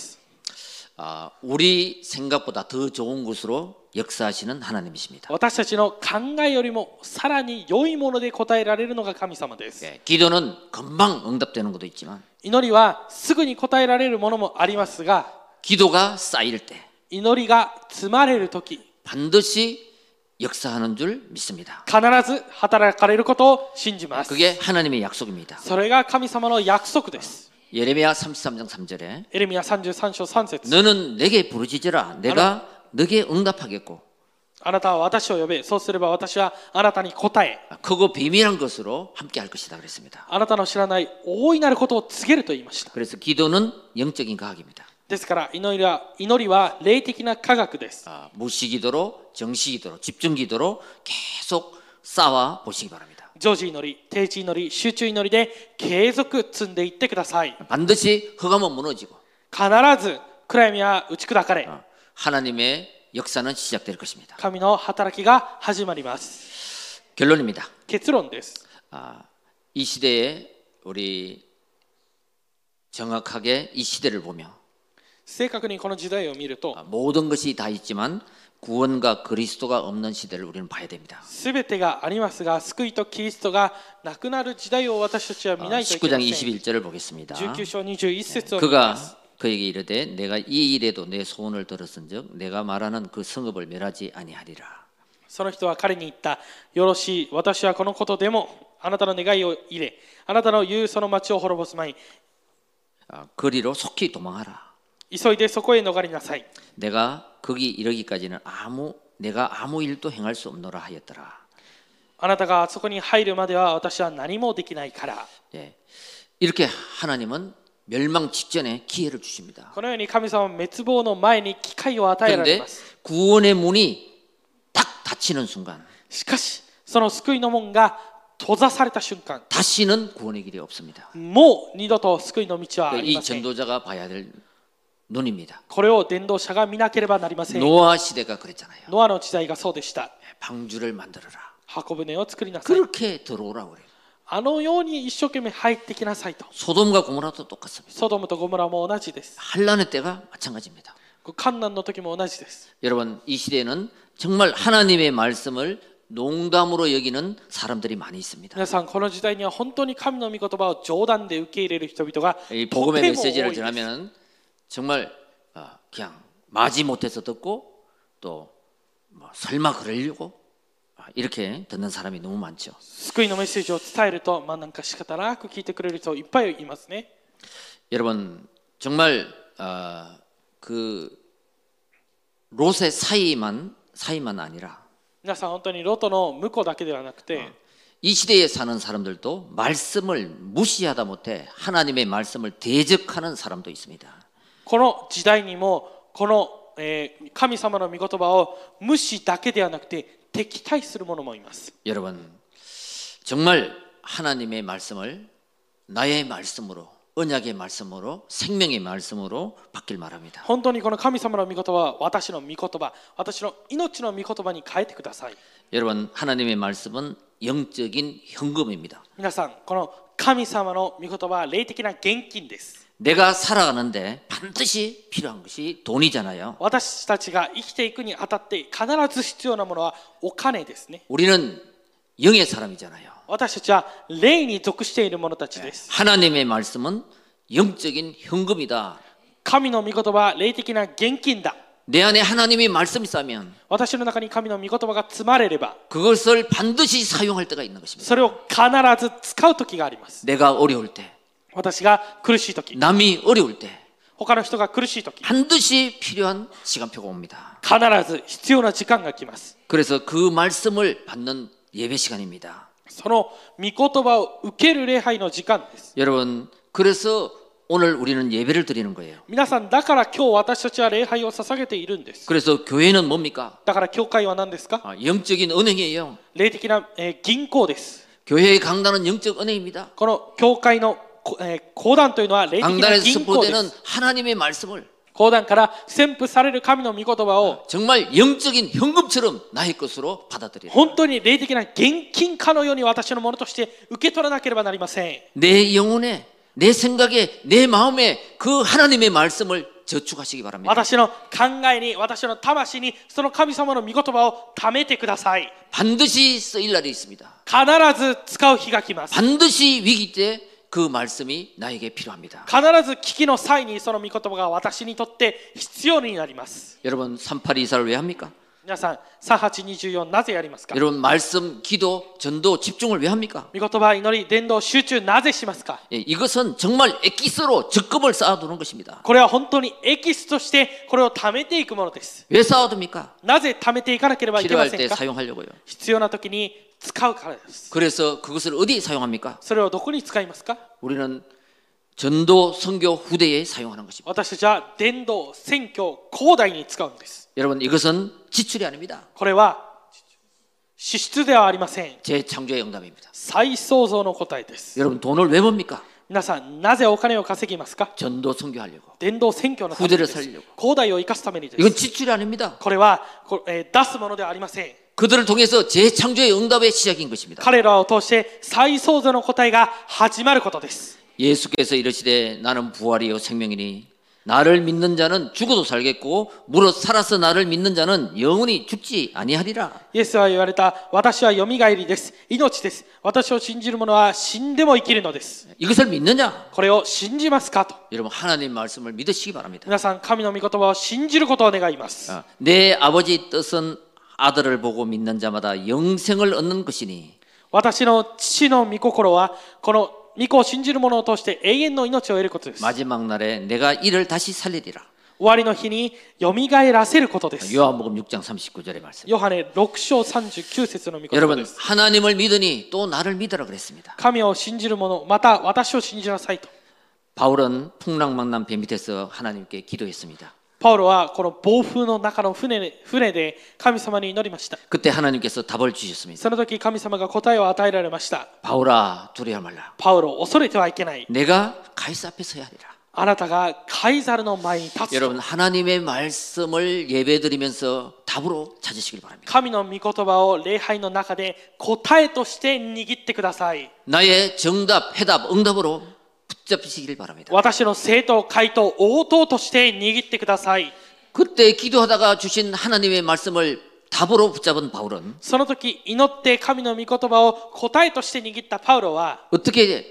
우리 생각보다 더 좋은 곳으로 역사하시는 하나님이십니다. 私たちの考えよりもさらに良いもので答えられるのが神様です。 기도는 금방 응답되는 것도 있지만 祈りはすぐに答えられるものもありますが、 기도가 쌓일 때 祈りが積まれるとき、 반드시 역사하는 줄 믿습니다. 必ず働かれることを信じます。 그게 하나님의 약속입니다. それが神様の約束です。 예레미야 33장 3절에 エレミヤ33章3節 너는 내게 부르짖으라 내가 너게 응답하겠고 あなたは私を呼べ、そうすれば私はあなたに答え、 크고 비밀한 것으로 함께 할 것이다 그랬습니다. あなたの知らない大いなることを告げると言いました。 그래서 기도는 영적인 과학입니다. ですから祈りは霊的な科学です。 무시기도로 정시기도로 집중기도로 계속 쌓아 보시기 바랍니다. 常時祈り、定時祈り、集中祈りで継続積んでいってください。 반드시 흑암은 무너지고 必ず暗闇は打ち砕かれ、 하나님의 역사는 시작될 것입니다. 神の働きが始まります。 결론입니다. 結論です。 이 시대에 우리 정확하게 이 시대를 보며 正確にこの時代を見ると、 모든 것이 다 있지만 구원과 그리스도가 없는 시대를 우리는 봐야 됩니다. すべてがありますが、救いとキリストがなくなる時代を私たちは見ないといけま 19장 せん。 21절을 보겠습니다. 19章21節を見ま 그가 す。 그에게 이르되 내가 이 일에도 내 소원을 들었은즉 내가 말하는 그 성읍을 멸하지 아니하리라. その人は彼に言った。よろしい、私はこのことでもあなたの願いを入れ、あなたの言うその町を滅ぼす前に 거리로 속히 도망하라. 急いでそこへ逃れなさい。 내가 거기 이르기까지는 내가 아무 일도 행할 수 없노라 하였더라. あなたがそこに入るまでは私は何もできないから。 예. 이렇게 하나님은 멸망 직전에 기회를 주십니다. このように神様は滅亡の前に機会を与えられ 그런데 ます。 구원의 문이 딱 닫히는 순간 しかし、その救いの門が閉ざされた瞬間、 다시는 구원의 길이 없습니다. もう二度と救いの道はあり 이 ません。 전도자가 봐야 될 눈입니다. これを伝道者が見なければなりません。 노아 시대가 그랬잖아요. ノアの時代がそうでした。 방주를 만들어라. 箱舟を作りなさい。 그렇게 들어오라고 그래요. あのように一生懸命入ってきなさいと。 소돔과 고모라도 똑같습니다. ソドムとゴモラも同じです。 환란의 때가 마찬가지입니다. 患難の時も同じです。 여러분 이 시대에는 정말 하나님의 말씀을 농담으로 여기는 사람들이 많이 있습니다. 皆さん、この時代には本当に神の御言葉を冗談で受け入れる人々が 이 とても 복음의 多い 메시지를 です。 전하면 정말 그냥 마지 못해서 듣고 또 설마 그러려고 이렇게 듣는 사람이 너무 많죠. 救いのメッセージを伝えると、なんか仕方なく聞いてくれる人いっぱいいますね。 여러분 정말 그 롯의 사이만 아니라 皆さん本当にロトの向こうだけではなくて、 이 시대에 사는 사람들도 말씀을 무시하다 못해 하나님의 말씀을 대적하는 사람도 있습니다. この時代にもこの、神様の御言葉を無視だけではなくて敵対する者もいます。 여러분 정말 하나님의 말씀을 나의 말씀으로 언약의 말씀으로 생명의 말씀으로 바뀔 말합니다. 本当にこの神様の御言葉は私の御言葉、私の命の御言葉に変えてください。 여러분 하나님의 말씀은 영적인 현금입니다. 皆さん、この神様の御言葉は霊的な現金です。 내가 살아가는데 반드시 필요한 것이 돈이잖아요. 私たちが生きていくにあたって必ず必要なものはお金ですね。 우리는 영의 사람이잖아요. 私たちは霊に属している者たちです。 하나님의 말씀은 영적인 현금이다. 神の御言葉は霊的な現金だ。 내 안에 하나님의 말씀이 있다면 私の中に神の御言葉が積まれれば、 그것을 반드시 사용할 때가 있는 것입니다. それを必ず使う時があります。 내가 어려울 때, 私が苦しい時、 남이 어려울 때 他の人が苦しい時、 반드시 필요한 시간표가 옵니다. 必ず必要な時間が来ます。 그래서 그 말씀을 받는 예배 시간입니다. その御言葉を受ける礼拝の時間です。 여러분, 그래서 오늘 우리는 예배를 드리는 거예요. 皆さん、だから今日私たちは礼拝を捧げているんです。 그래서 교회는 뭡니까? だから教会は何ですか？ 영적인 은행이에요. 霊的な、銀行です。 교회의 강단은 영적 은행입니다. この教会の、講談というのは霊的な 강단에서 銀行で 선포되는 す。 하나님의 말씀을 講談から宣布される神の御言葉を 정말 영적인 현금처럼 나의 것으로 받아들이라. 本当に霊的な現金かのように私のものとして受け取らなければなりません。 내 영혼에, 내 생각에, 내 마음에 그 하나님의 말씀을 저축하시기 바랍니다. 私の考えに、私の魂にその神様の御言葉を貯めてください。 반드시 쓰일 날이 있습니다. 必ず使う日が来ます。 반드시 위기 때 그 말씀이 나에게 필요합니다. 必ず危機の際にその御言葉が私にとって必要になります。 여러분 382사를 왜 합니까? 皆さん、3824なぜやりますか？ 여러분 말씀, 기도, 전도, 집중을 왜 합니까? 御言葉、祈り、伝道、集中なぜしますか？ 예, 이것은 정말 엑기스로 적금을 쌓아두는 것입니다. これは本当にエキスとしてこれを貯めていくものです。 왜 쌓아둡니까? なぜ貯めていかなければいけま 필요할 せ 때 んか？ 사용하려고요. 必要な時に使うからです。 그래서 그것을 어디에 사용합니까? それをどこに使いますか？ 우리는 전도, 선교, 후대에 사용하는 것입니다. 私たちは伝道、宣教、講談に使うんです。 여러분 이것은 지출이 아닙니다. これは支出ではありません。 재창조의 응답입니다. 再創造の答えです。 여러분 돈을 왜 봅니까? 皆さん、なぜお金を稼ぎますか？ 전도, 선교하려고. 伝道、宣教のためにで 후대를 す 살리려고. 。 講談を生かすためにで 이건 す。 지출이 아닙니다. これは出すものではありません。 그들을 통해서 재창조의 응답의 시작인 것입니다. 彼らを通して再創造の答えが始まることです。 예수께서 이르시되 나는 부활이요 생명이니 나를 믿는 자는 죽어도 살겠고 무릇 살아서 나를 믿는 자는 영원히 죽지 아니하리라. イエスは言われた。私はよみがえりです。命です。私を信じる者は死んでも生きるのです。 이것을 믿느냐? これを信じますかと。 여러분 하나님 말씀을 믿으시기 바랍니다. 皆さん、神の御言葉を信じることを願います。 내 아버지 뜻은 아들을 보고 믿는 자마다 영생을 얻는 것이니 私の父の御心はこの御子を信じる者を通して永遠の命を得ることです。 마지막 날에 내가 이를 다시 살리리라. 終わりの日によみがえらせることです。 요한복음 6장 39절의 말씀. ヨハネ6章39節の御言葉 여러분 です。 하나님을 믿으니 또 나를 믿으라 그랬습니다. 神を信じる者、また私を信じなさいと。 바울은 풍랑망난 배 밑에서 하나님께 기도했습니다. パウロはこの暴風の中の船で神様に祈りました。 그때 하나님께서 답을 주셨습니다. その時神様が答えを与えられました。 바울아 두려워 말라. パウロ、恐れてはいけない。 내가 가이사 앞에 서야 하리라. あなたがカイザルの前に立つと。 여러분 하나님의 말씀을 예배드리면서 답으로 찾으시길 바랍니다. 神の御言葉を礼拝の中で答えとして握ってください。 나의 정답, 해답, 응답으로 붙잡히시길 바랍니다. 私の正答、回答、応答として握ってください。 그때 기도하다가 주신 하나님의 말씀을 답으로 붙잡은 바울은 その時祈って神の御言葉を答えとして握ったパウロは 어떻게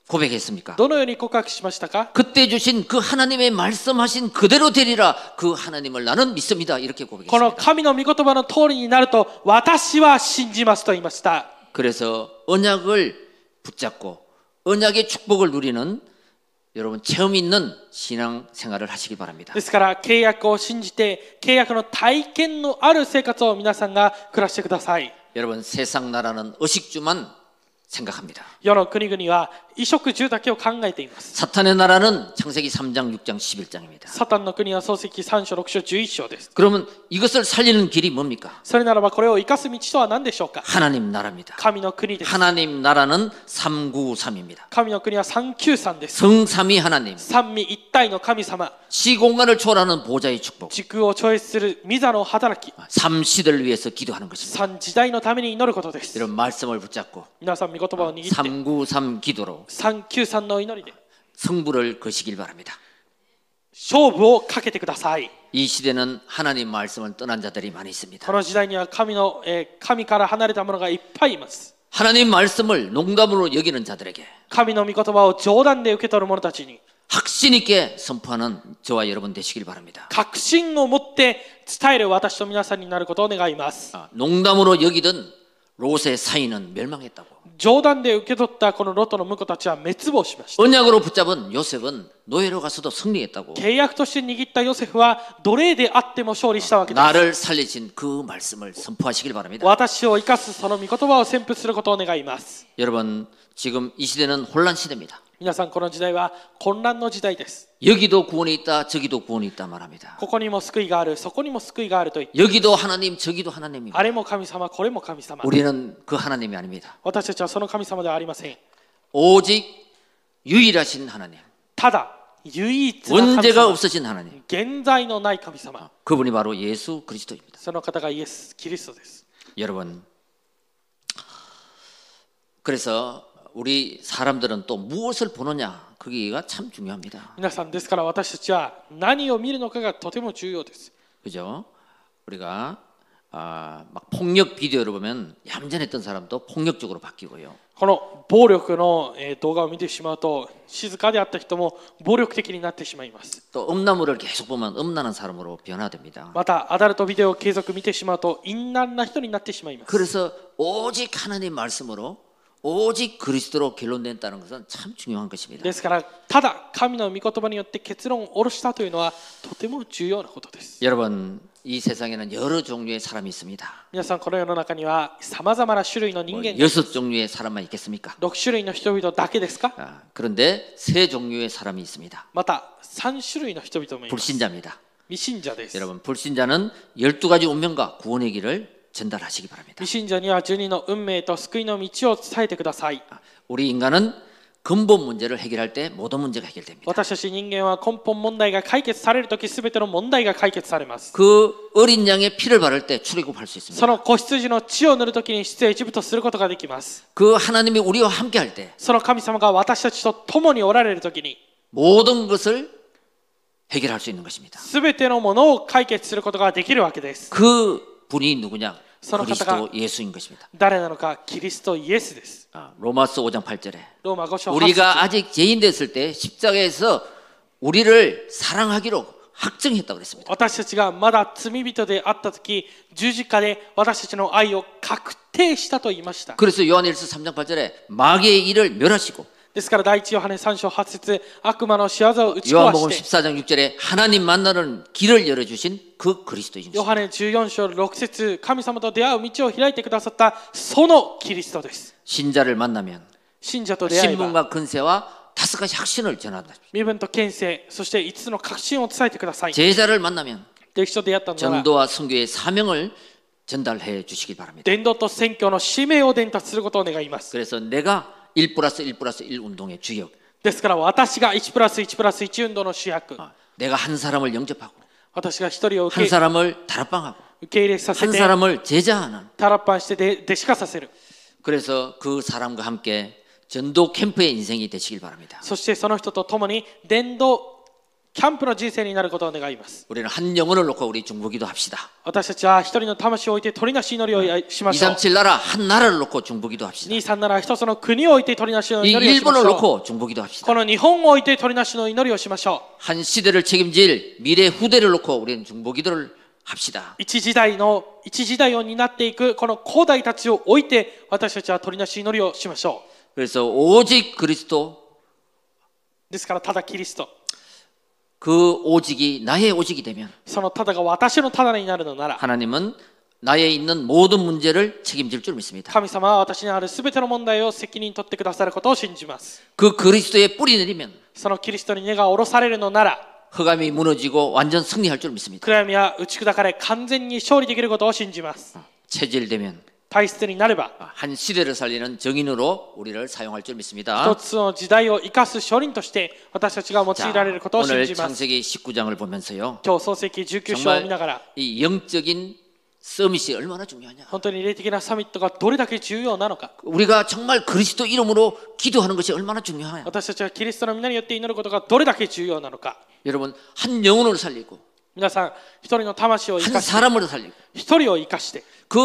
고백했습니까? どのように告白しましたか？ 그때 주신 그 하나님의 말씀하신 그대로 되리라. 그 하나님을 나는 믿습니다. 이렇게 この 고백했습니다. 神の御言葉の通りになると私は信じますと言いました。 그래서 언약을 붙잡고 언약의 축복을 누리는 여러분 체험 있는 신앙 생활을 하시기 바랍니다. ですから契約を信じて契約の体験のある生活を皆さんが暮らしてください。 여러분 세상 나라는 의식주만 생각합니다. 世の国々は衣食住だけを考えています。 사탄의 나라는 창세기 3장, 6장, 11장입니다. サタンの国は創世記3章6章11章です。 그러면 이것을 살리는 길이 뭡니까? それならばこれを生かす道とは何でしょうか？ 하나님 나라입니다. 神の国です。 하나님 나라는 393입니다. 神の国は393です。 성삼위 하나님, 三位一体の神様、 시공간을 초월하는 보좌의 축복, 時空を超越する御座の働き、 삼시대를 위해서 기도하는 것입니다. 三時代のために祈ることです。 이런 말씀을 붙잡고 皆さん御言葉を握って 393 기도로 393の祈りで 승부를 거시길 바랍니다. 勝負をかけてください。 이 시대는 하나님 말씀을 떠난 자들이 많이 있습니다. この時代には神から離れた者がいっぱいいます。 하나님 말씀을 농담으로 여기는 자들에게 神の御言葉を冗談で受け取る者たちに 확신 있게 선포하는 저와 여러분 되시길 바랍니다. 確信を持って伝える私と皆さんになることを願います。 농담으로 여기던 롯의 사이는 멸망했다고. 冗談で受け取ったこのロトの婿たちは滅亡しました。 언약으로 붙잡은 요셉은 노예로 가서도 승리했다고. 契約として握ったヨセフは奴隷であっても勝利したわけです。 나를 살리신 그 말씀을 선포하시길 바랍니다. 私を生かすその御言葉を宣布することを願います。 여러분 지금 이 시대는 혼란 시대입니다. 皆さんこの時代は混乱の時代です。 여기도 구원이 있다 저기도 구원이 있다 말합니다. ここにも救いがある、そこにも救いがあると言って、 여기도 하나님 저기도 하나님입니다. あれも神様、これも神様。 우리는 그 하나님이 아닙니다. 私たちはその神様ではありません。 오직 유일하신 하나님, ただ唯一の神 원죄가 様、 없으신 하나님, 現在のない神様、 그분이 바로 예수 그리스도입니다. その方がイエス・キリストです。 여러분, 그래서 우리 사람들은 또 무엇을 보느냐 그게가 참 중요합니다. 皆さんですから私たちは何を見るのかがとても重要です。 그죠? 우리가 막 폭력 비디오를 보면 얌전했던 사람도 폭력적으로 바뀌고요. この暴力の動画を見てしまうと静かであった人も暴力的になってしまいます。 또 음란물을 계속 보면 음란한 사람으로 변화됩니다. またアダルトビデオを継続見てしまうと淫乱な人になってしまいます。 그래서 오직 하나님 말씀으로 오직 그리스도로 결론된다는 것은 참 중요한 것입니다. ですからただ神の御言葉によって結論を下ろしたというのはとても重要なことです。 여러분, 이 세상에는 여러 종류의 사람이 있습니다. 皆さんこの世の中にはさまざまな種類の人間が 6종류의 사람만 있겠습니까? 6種類の人々だけですか？ 그런데 3종류의 사람이 있습니다. また3種類の人々もいます。 불신자입니다. 未信者です。 여러분, 불신자는 12가지 운명과 구원의 길을 전달하시기 바랍니다. 未信者には12の運命と救いの道を伝えてください。 우리 인간은 근본 문제를 해결할 때 모든 문제가 해결됩니다. 私たち人間は根本問題が解決されるときすべての問題が解決されます。 그 어린 양의 피를 바를 때 출애굽할 수 そ 있습니다. の子羊の血を塗るときに出エジプトすることができます。 그 하나님이 우리와 함께 할 때 その神様が私たちと共におられるときに 모든 것을 해결할 수 있는 것입니다. すべてのものを解決することができるわけです。 그 분이 누구냐? その方が 그리스도 예수인 것입니다. 誰なのか、キリストイエスです。 로마서 5장 8절에 ローマ5章8節 우리가 아직 죄인 됐을 때 십자가에서 우리를 사랑하기로 확정했다고 그랬습니다. 私たちがまだ罪人であったとき、十字架で私たちの愛を確定したと言いました。 그래서 요한일서 3장 8절에 마귀의 일을 멸하시고 ですから第一ヨハネ3章8節悪魔の仕業を打ち壊 요한복음 して 14장 6절에 하나님 만나는 길을 열어주신 그 그리스도인 ヨ 것입니다. ハネ14章6節神様と出会う道を開いてくださったそのキリストです。 신자를 만나면 信者と出会えば 신분과 근세와 5가지 혁신을 전한다. 身分と権勢そして5つの確信を伝えてください。 제자를 만나면 弟子と出会ったのなら 전도와 선교의 사명을 전달해 주시기 바랍니다. 伝道と宣教の使命を伝達することを願います。 그래서 내가 1+1+1 운동의 주역, ですから私が 1+1+1 運動の主役、 내가 한 사람을 영접하고 私が一人を 한 사람을 다락방하고 受け入れさせ 한 て 사람을 제자하는 タラッパンして弟子化させる。 그래서 그 사람과 함께 전도 캠프의 인생이 되시길 바랍니다. そしてその人と共に伝道キャンプの人生になることを願います。 우리는 한 영혼을 놓고 우리 중보기도 합시다. 私たちは一人の魂を置いて鳥なし祈りをしましょう。 237 나라 한 나라를 놓고 중보기도 합시다. 237一つの国を置いて鳥なしの 이 祈りをしま 일본을 しょう。 놓고 중보기도 합시다. この日本を置いて鳥なしの祈りをしましょう。 한 시대를 책임질 미래 후대를 놓고 우리는 중보기도를 합시다. 一時代を担っていくこの後代たちを置いて私たちは鳥なし祈りをしましょ 그래서 오직 그리스도 う。ですからただキリスト、 그 오직이 나의 오직이 되면 そのただが私のただになるのなら 하나님은 나에 있는 모든 문제를 책임질 줄 믿습니다. 神様は私にあるすべての問題を責任取ってくださることを信じます。 그 그리스도에 뿌리 내리면 そのキリストに根が下ろされるのなら 흑암이 무너지고 완전 승리할 줄 믿습니다. 暗闇は打ち砕かれ完全に勝利できることを信じます。 체질되면 体質になれば 한 시대를 살리는 정인으로 우리를 사용할 줄 믿습니다. 一つの時代を生かす書輪として私たちが用いられることを信 오늘 じます。 창세기 19장을 보면서요. 今日創世記19章を見ながら 이 영적인 서밋이 얼마나 중요하냐. 本当に霊的なサミットがどれだけ重要なのか、 우리가 정말 그리스도 이름으로 기도하는 것이 얼마나 중요하냐. 私たちはキリストの皆によって祈ることがどれだけ重要なのか。 여러분 한 영혼을 살리고 皆さん一人の魂を生 한 かして 사람을 살리고 一人を生かして 그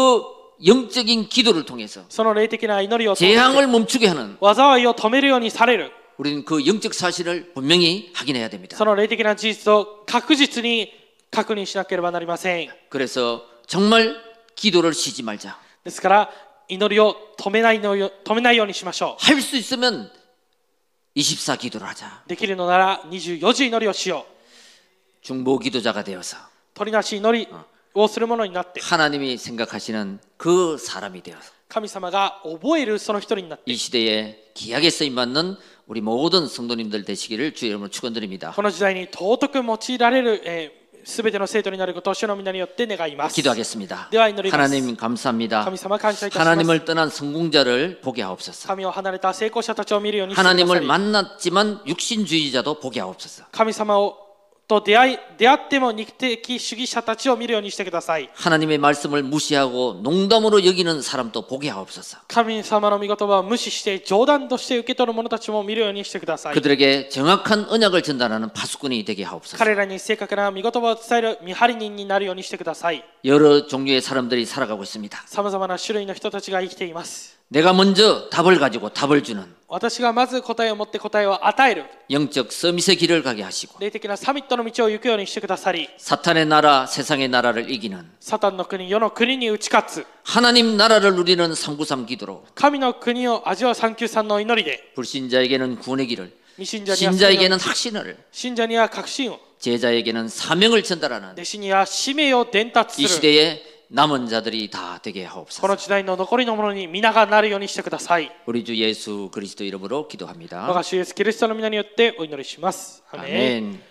영적인 기도를 통해서 その霊的な祈りを通して 재앙을 멈추게 하는 災いを止めるようにされる 우리는 그 영적 사실을 분명히 확인해야 됩니다. その霊的な事実を確実に確認しなければなりません。 그래서 정말 기도를 쉬지 말자. ですから祈りを止めないようにしましょ 할 수 있으면 24 기도를 하자. う。できるのなら24時祈りをしよう。 중보 기도자가 되어서 鳥なし祈りをするものになって 하나님이 생각하시는 그 사람이 되어서 神様が覚えるその一人になって 이 시대에 귀하게 쓰임받는 우리 모든 성도님들 되시기를 주의 이름으로 축원드립니다. この時代に尊く用いられるすべての生徒になることを主の皆によって願います。 기도하겠습니다. では祈ります。 하나님 감사합니다. 神様感謝いたします。 하나님을 떠난 성공자를 보게 하옵소서. 神を離れた成功者たちを見るようにしてくださ 하나님을 い。 만났지만 육신주의자도 보게 하옵소서. 神様と出会っても肉的主義者たちを見るようにしてください。 하나님의 말씀을 무시하고 농담으로 여기는 사람도 보게 하옵소서. 神様の御言葉を無視して冗談として受け取る者たちも見るようにしてください。 그들에게 정확한 언약을 전달하는 파수꾼이 되게 하옵소서. 彼らに正確な御言葉を伝える見張り人になるようにしてください。 여러 종류의 사람들이 살아가고 있습니다. さまざまな種類の人たちが生きています。 내가 먼저 답을 가지고 답을 주는 私がまず答えを持って答えを与える 영적 서밋의 길을 가게 하시고 霊的なサミットの道を行くようにしてくださり、 사탄의 나라 세상의 나라를 이기는 サタンの国世の国に打ち勝つ 하나님 나라를 누리는 393 기도로 神の国を味わう393の祈りで 불신자에게는 구원의 길을 未信者には 신자에게는 확신을 信者には確信を 제자에게는 사명을 전달하는 弟子には使命を伝達 이 する 시대의 남은 자들이 다 되게 こ 하옵소서. の時代の残りのものに皆がなるようにしてください。 우리 주 예수 그리스도 이름으로 我 기도합니다. が主イエスキリストの皆によってお祈りします。アメン。 아멘.